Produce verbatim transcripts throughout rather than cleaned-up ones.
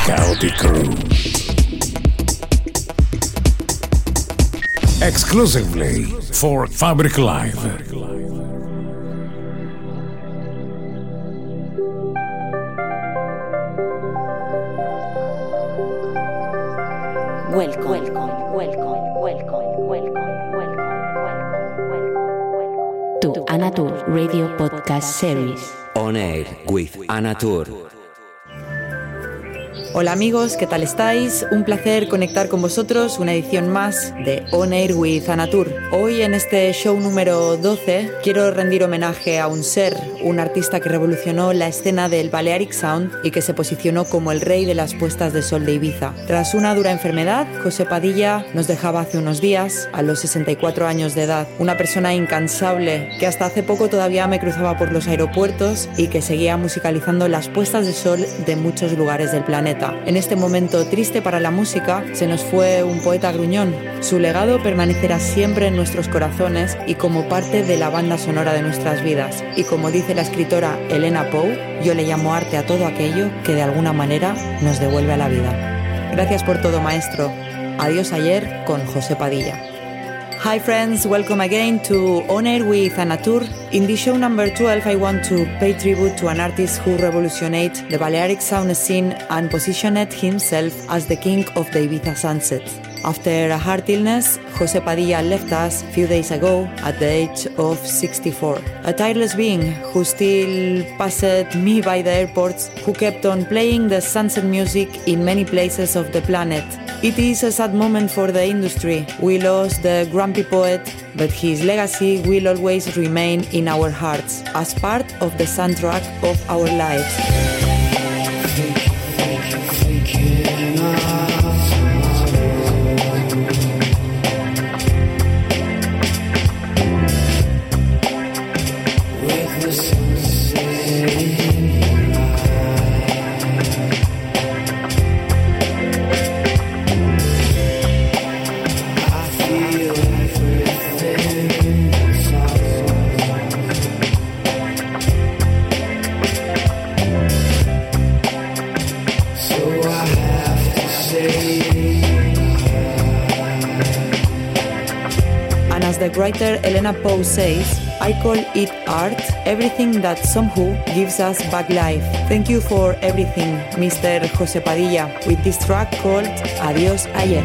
Chaotic Crew. Exclusively for Fabric Live. Welcome, welcome, welcome, welcome, welcome, welcome, welcome, welcome to Anatur Radio Podcast Series. On Air with Anatur. Hola amigos, ¿qué tal estáis? Un placer conectar con vosotros, una edición más de On Air with Anatur. Hoy en este show número doce quiero rendir homenaje a un ser, un artista que revolucionó la escena del Balearic Sound y que se posicionó como el rey de las puestas de sol de Ibiza. Tras una dura enfermedad, José Padilla nos dejaba hace unos días, a los sesenta y cuatro años de edad. Una persona incansable que hasta hace poco todavía me cruzaba por los aeropuertos y que seguía musicalizando las puestas de sol de muchos lugares del planeta. En este momento triste para la música, se nos fue un poeta gruñón. Su legado permanecerá siempre en nuestros corazones y como parte de la banda sonora de nuestras vidas. Y como dice la escritora Elena Poe, yo le llamo arte a todo aquello que de alguna manera nos devuelve a la vida. Gracias por todo, maestro. Adiós ayer con José Padilla. Hi friends, welcome again to On Air with Anatur. In this show number twelve, I want to pay tribute to an artist who revolutionized the Balearic sound scene and positioned himself as the king of the Ibiza sunset. After a heart illness, José Padilla left us a few days ago at the age of sixty-four. A tireless being who still passed me by the airports, who kept on playing the sunset music in many places of the planet. It is a sad moment for the industry. We lost the grumpy poet, but his legacy will always remain in our hearts as part of the soundtrack of our lives. The writer Elena Poe says, I call it art, everything that somehow gives us back life. Thank you for everything, Mister José Padilla, with this track called Adiós Ayer.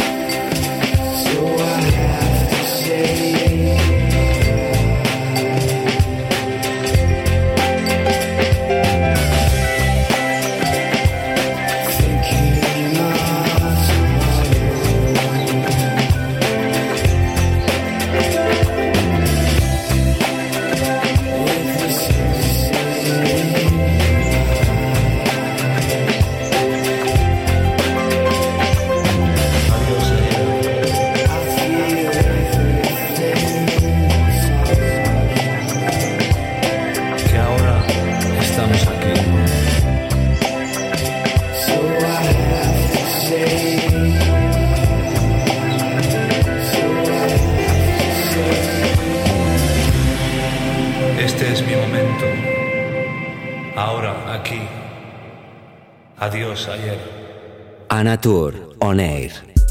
So I have to say aquí. Adiós ayer. Anatur On Air.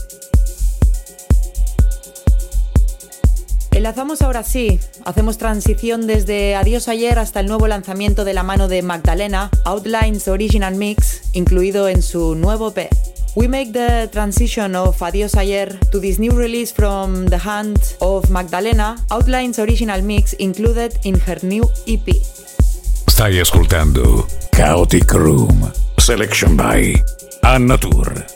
Enlazamos ahora sí, hacemos transición desde Adiós Ayer hasta el nuevo lanzamiento de la mano de Magdalena, Outlines Original Mix, incluido en su nuevo E P. We make the transition of Adiós Ayer to this new release from the hand of Magdalena, Outlines Original Mix included in her new E P. Stai ascoltando Chaotic Room, selection by Anatur.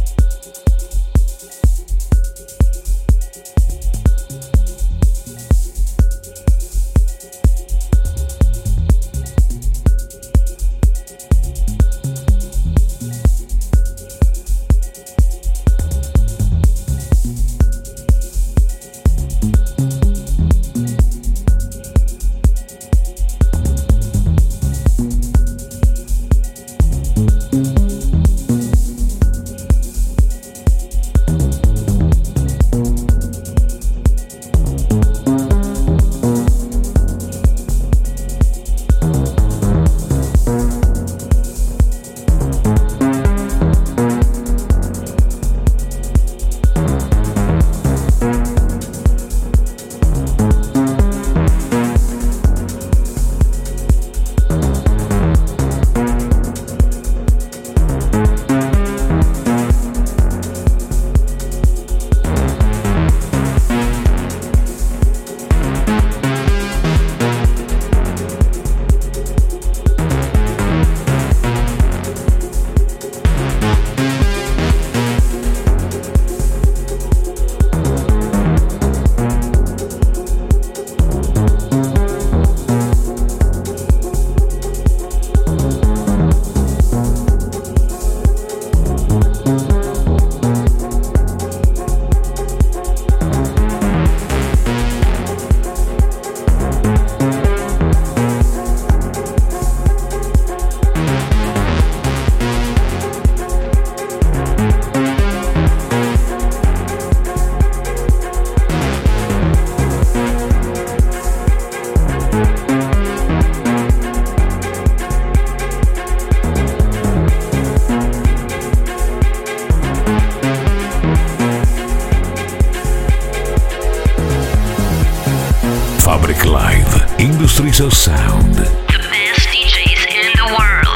Fabric Live, Industries of Sound. The best D Js in the world.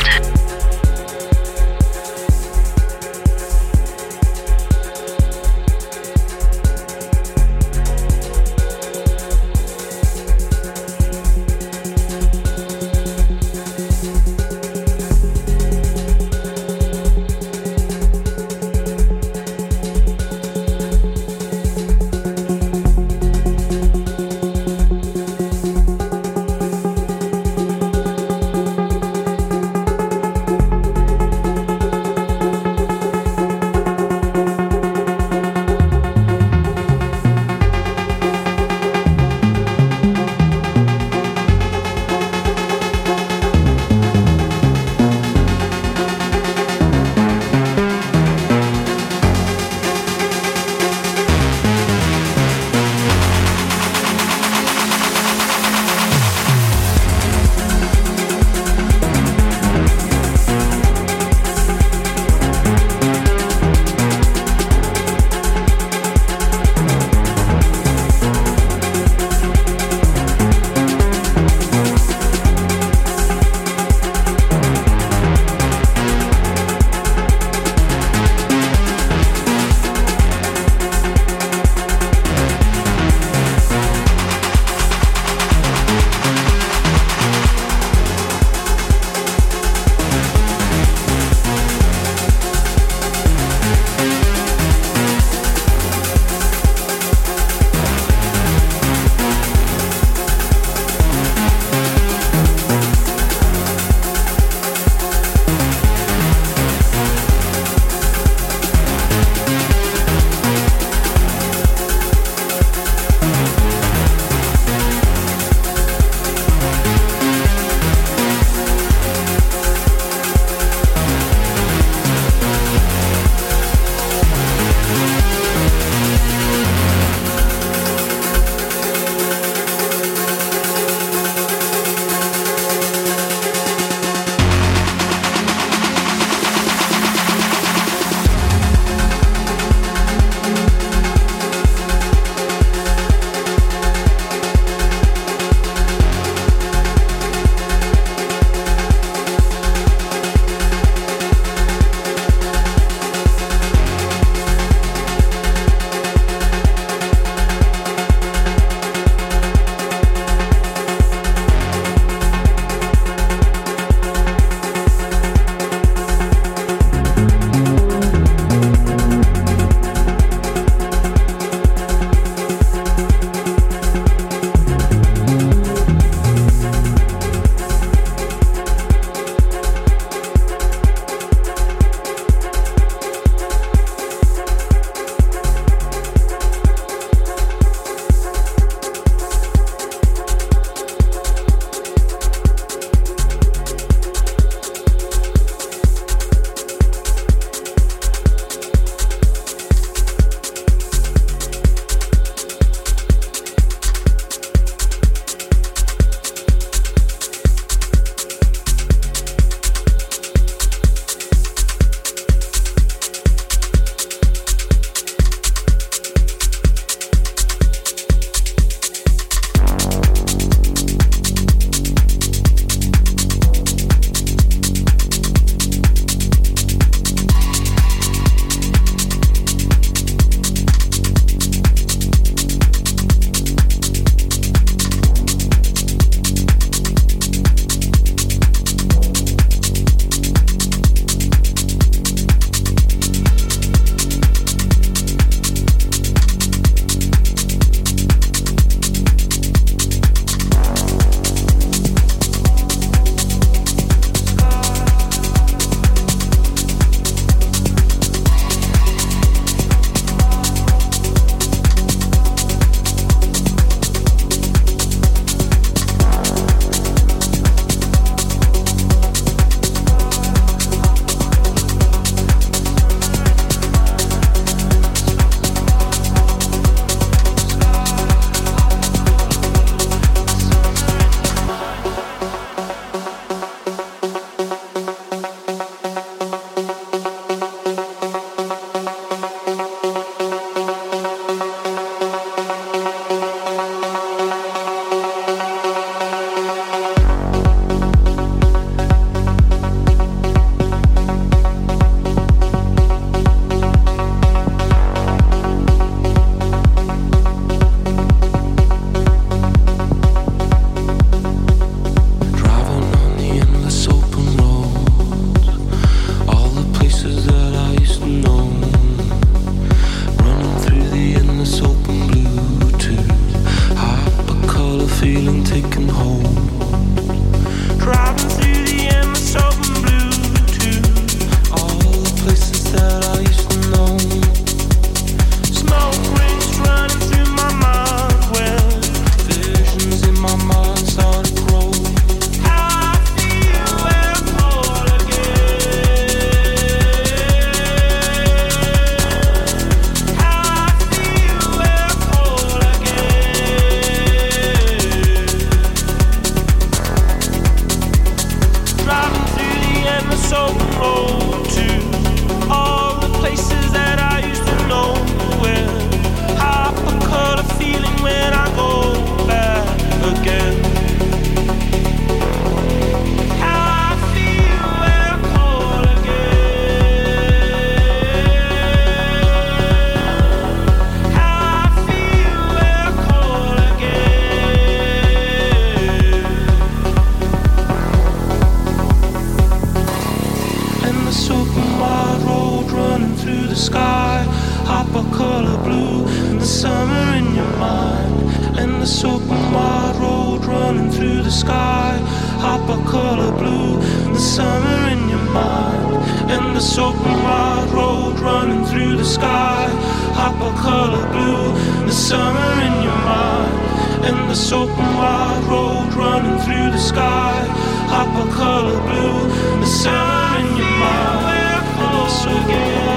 summer in your mind, and the open wide road running through the sky. Hopper color blue, the summer in your mind, and the open wide road running through the sky. Hopper color blue, the summer in your mind, and the open wide road running through the sky. Hopper color blue, the summer in your mind, and the open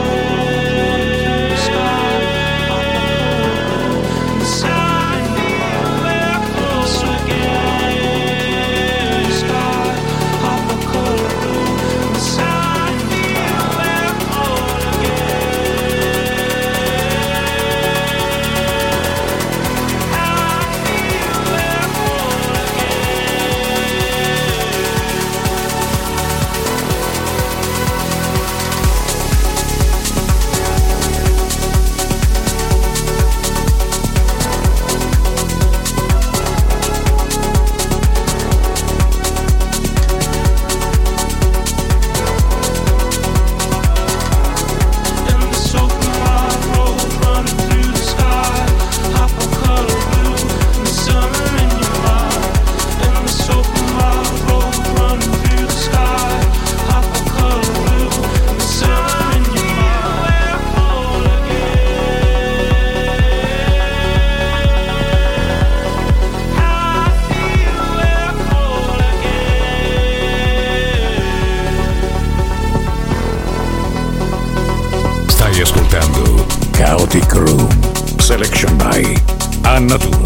Chaotic Room, selection by Annatur.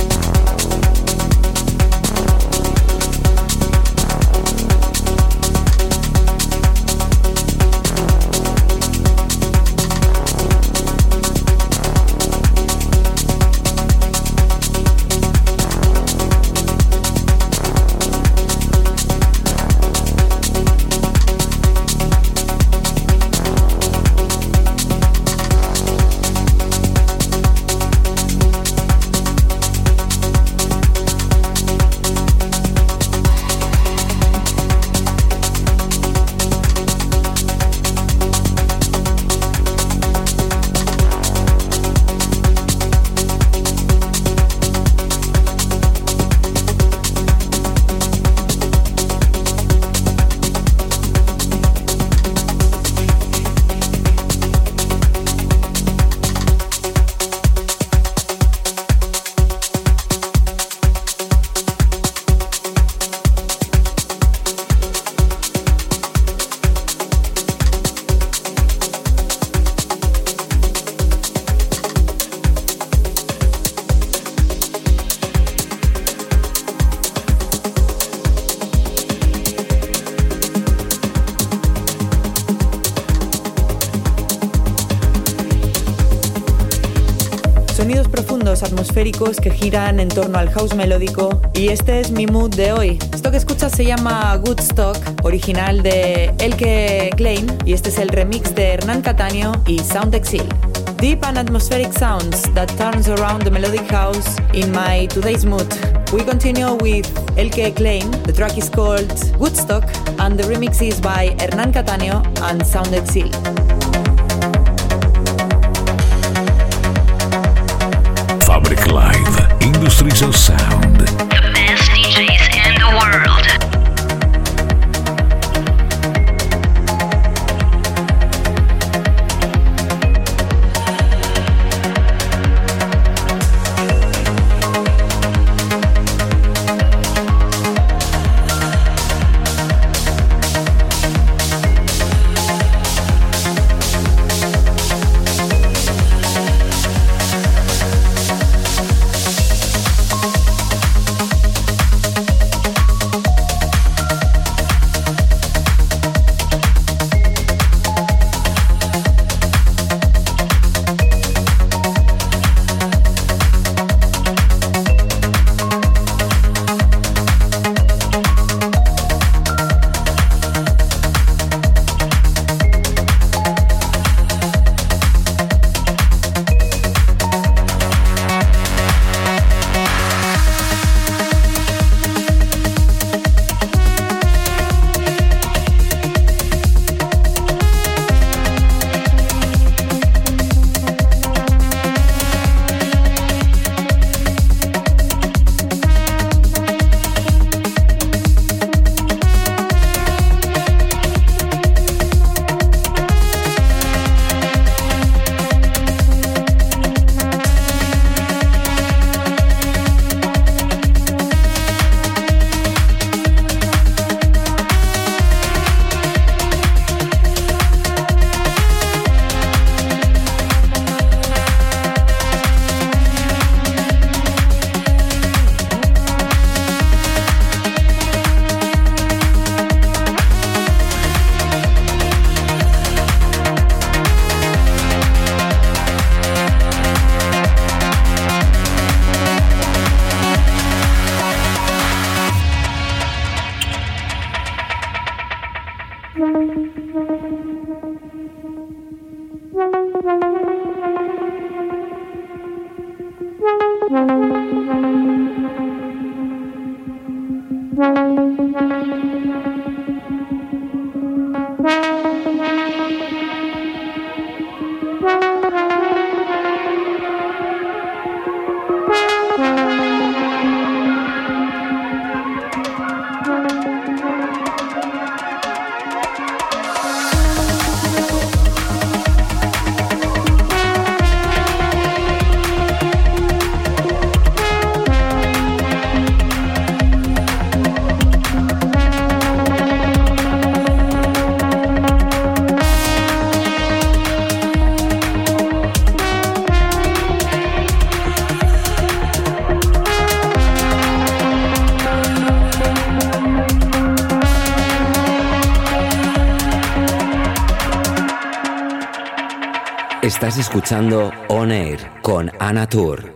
Sonidos profundos, atmosféricos que giran en torno al house melódico, y este es mi mood de hoy. Esto que escuchas se llama Woodstock, original de Elke Klein, y este es el remix de Hernán Cataño y Sound Exil. Deep and atmospheric sounds that turns around the melodic house in my today's mood. We continue with Elke Klein. The track is called Woodstock and the remix is by Hernán Cataño and Sound Exil. Fabric Live, Industries of Sound. The best D Js in the world. Estás escuchando On Air con Anatur.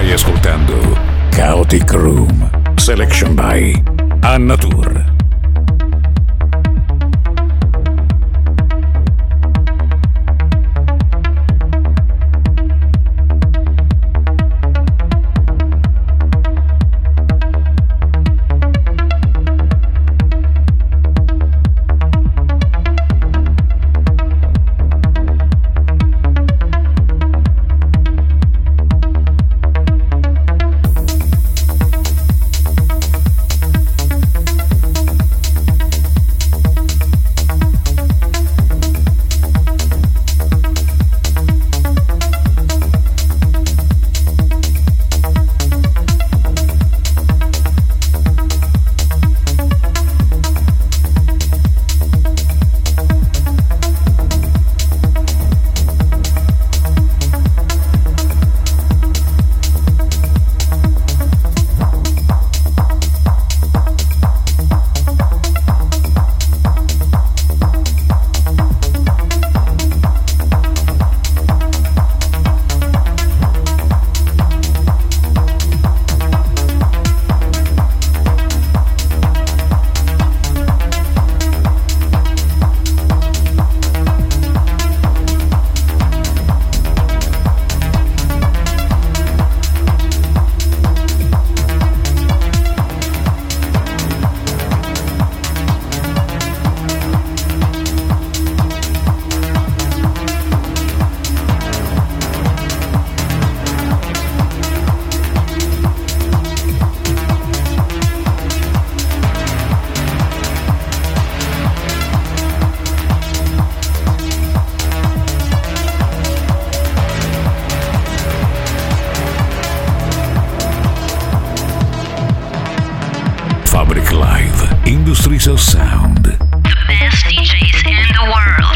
Stai ascoltando Chaotic Room, selection by Annatur. Industries of Sound. The best D Js in the world.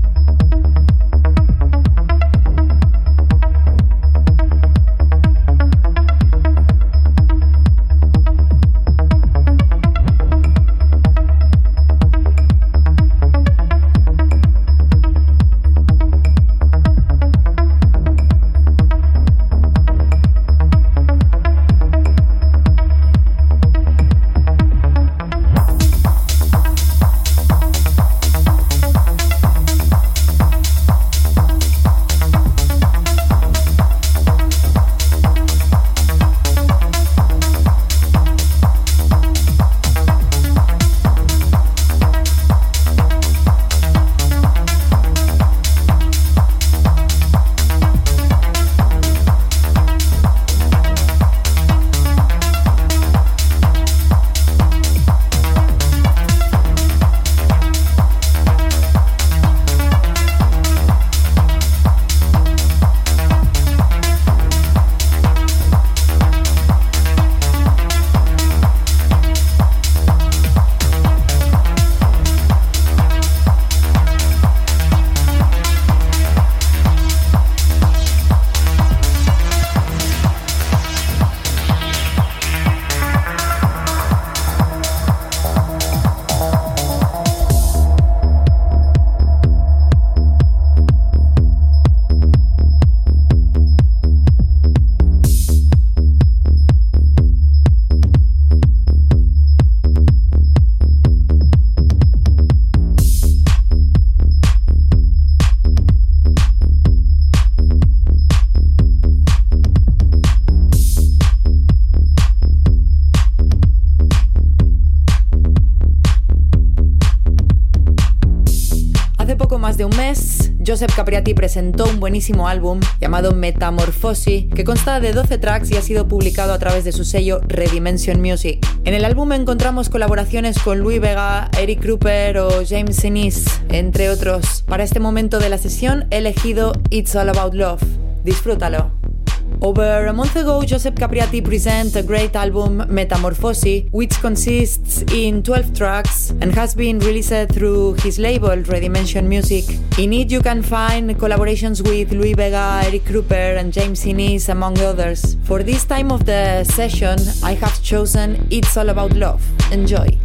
De un mes, Josep Capriati presentó un buenísimo álbum llamado Metamorphosis, que consta de doce tracks y ha sido publicado a través de su sello Redimension Music. En el álbum encontramos colaboraciones con Louie Vega, Eric Kruper o James Innes, entre otros. Para este momento de la sesión he elegido It's All About Love. Disfrútalo. Over a month ago, Josep Capriati presented a great album, Metamorphosis, which consists in twelve tracks and has been released through his label, Redimension Music. In it you can find collaborations with Louie Vega, Eric Kruper and James Innes, among others. For this time of the session, I have chosen It's All About Love. Enjoy!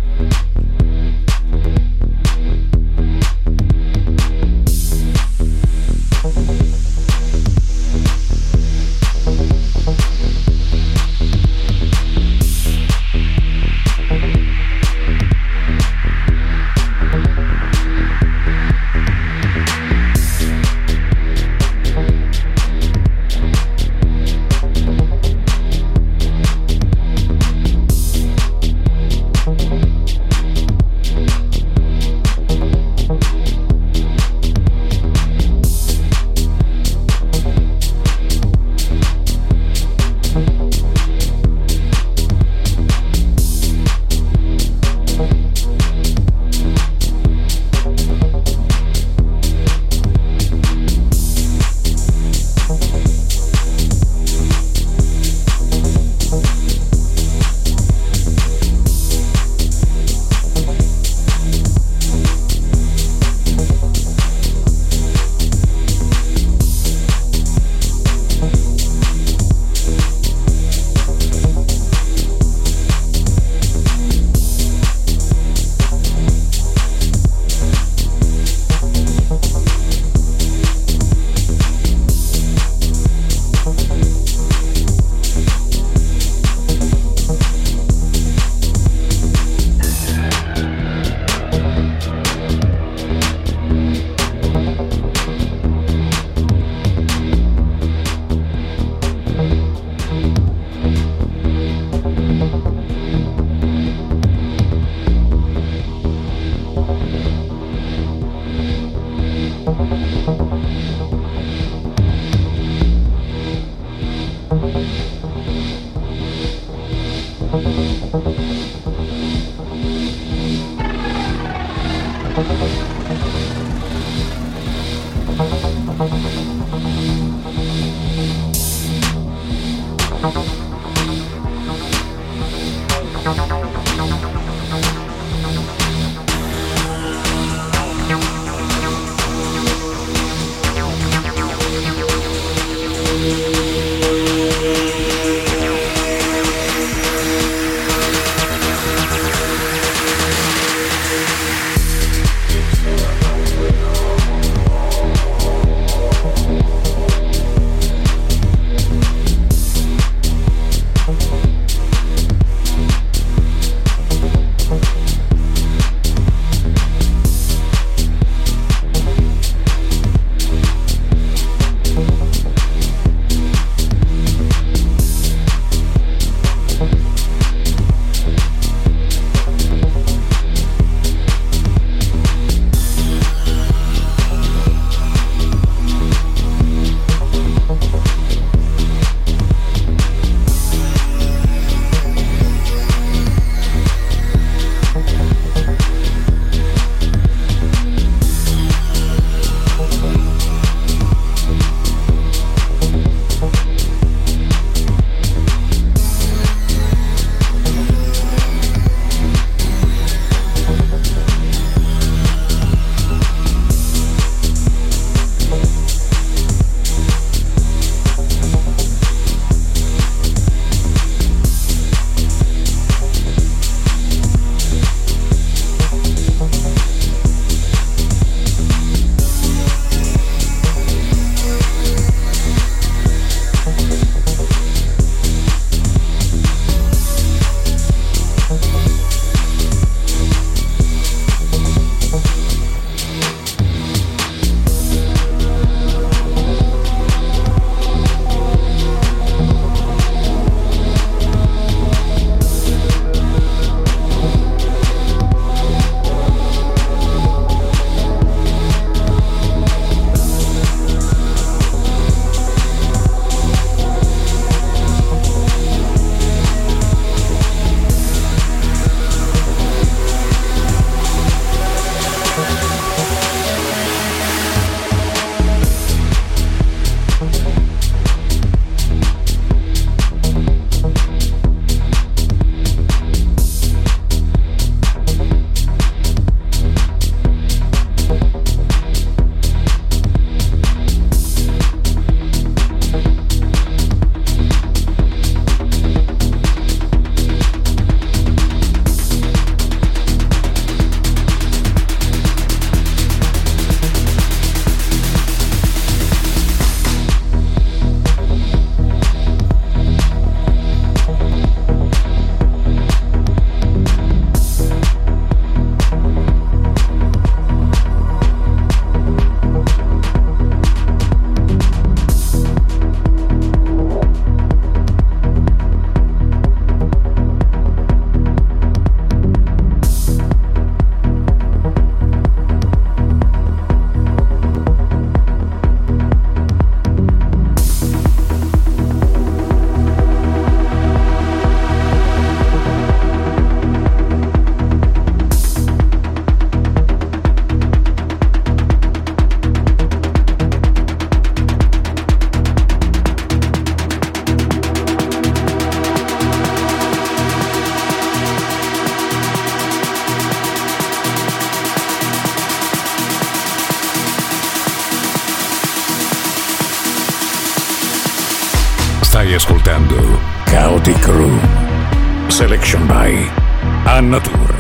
Stai ascoltando Chaotic Room, Selection by Annatur.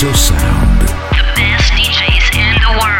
Industries of Sound. The best D Js in the world.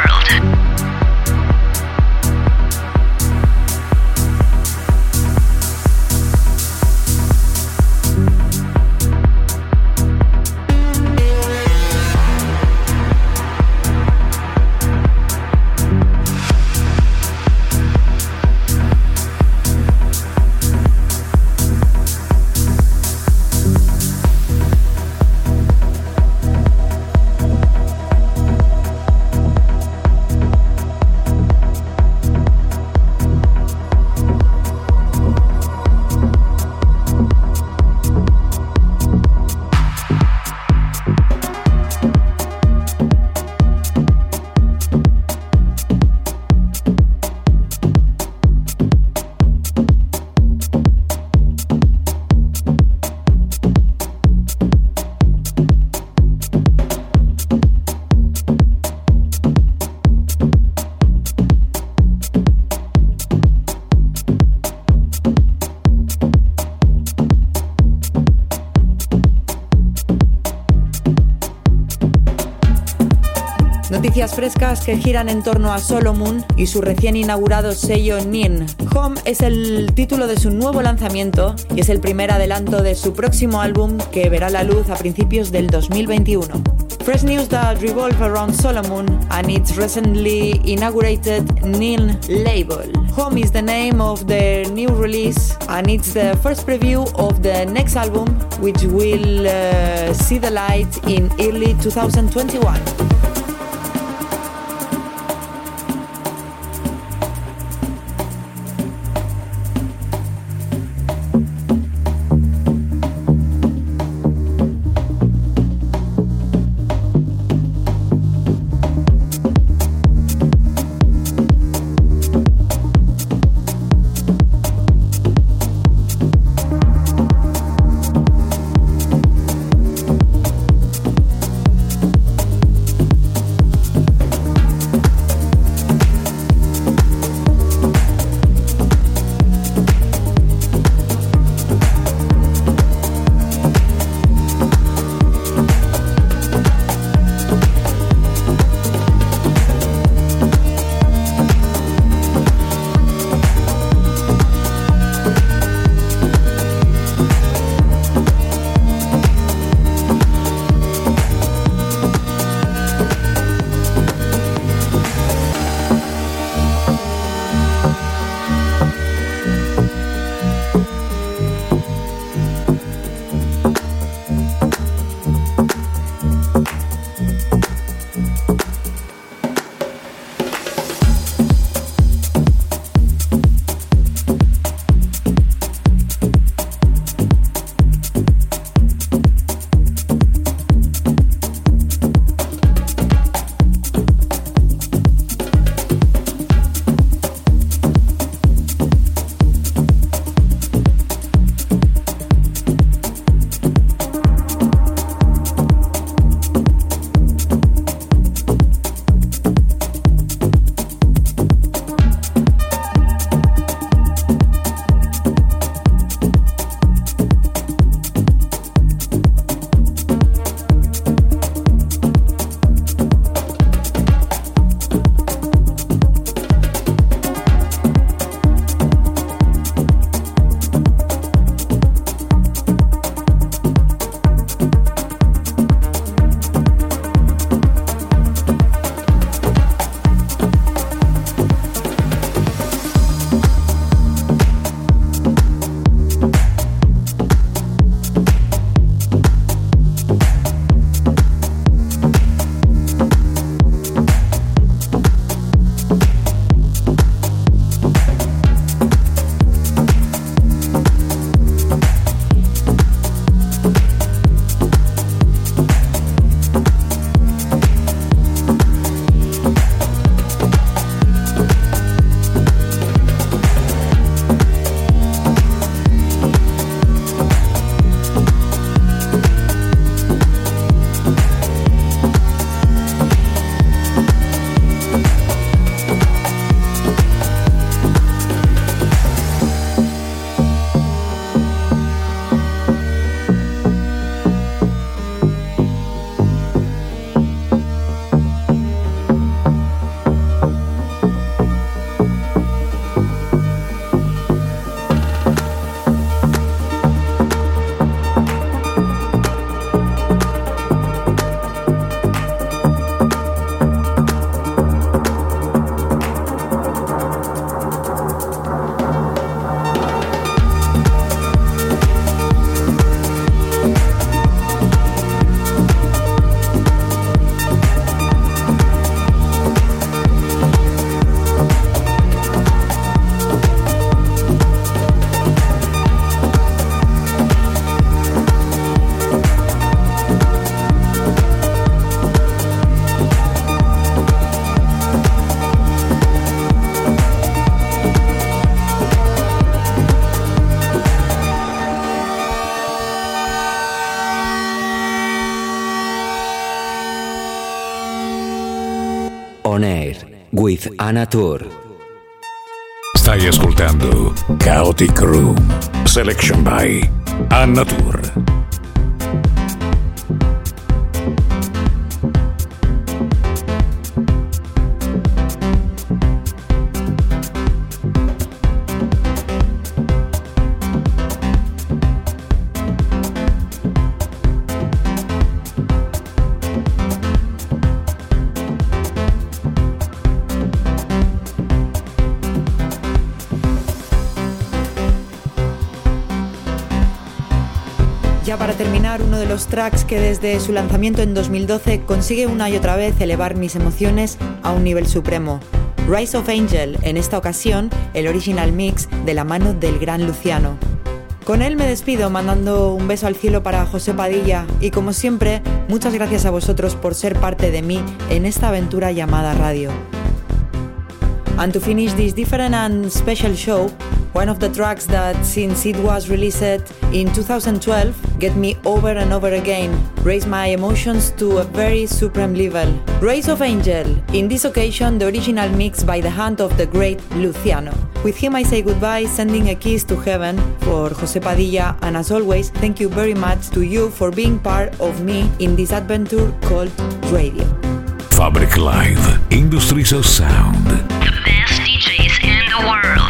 Noticias frescas que giran en torno a Solomon y su recién inaugurado sello Nin. Home es el título de su nuevo lanzamiento y es el primer adelanto de su próximo álbum que verá la luz a principios del dos mil veintiuno. Fresh news that revolve around Solomon and its recently inaugurated Nin label. Home is the name of the new release and it's the first preview of the next album, which will uh, see the light in early twenty twenty-one. with Anatur. Stai ascoltando Chaotic Room, selection by Anatur. Ya para terminar, uno de los tracks que desde su lanzamiento en dos mil doce consigue una y otra vez elevar mis emociones a un nivel supremo. Rise of Angel, en esta ocasión el original mix de la mano del gran Luciano. Con él me despido mandando un beso al cielo para José Padilla y como siempre, muchas gracias a vosotros por ser parte de mí en esta aventura llamada radio. And to finish this different and special show, one of the tracks that, since it was released in two thousand twelve, get me over and over again, raise my emotions to a very supreme level. Rise of Angel, in this occasion the original mix by the hand of the great Luciano. With him I say goodbye, sending a kiss to heaven for José Padilla, and as always, thank you very much to you for being part of me in this adventure called radio. Fabric Live, Industries of Sound. The best D Js in the world.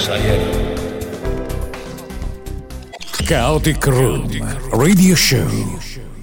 Chaotic Room Radio Show.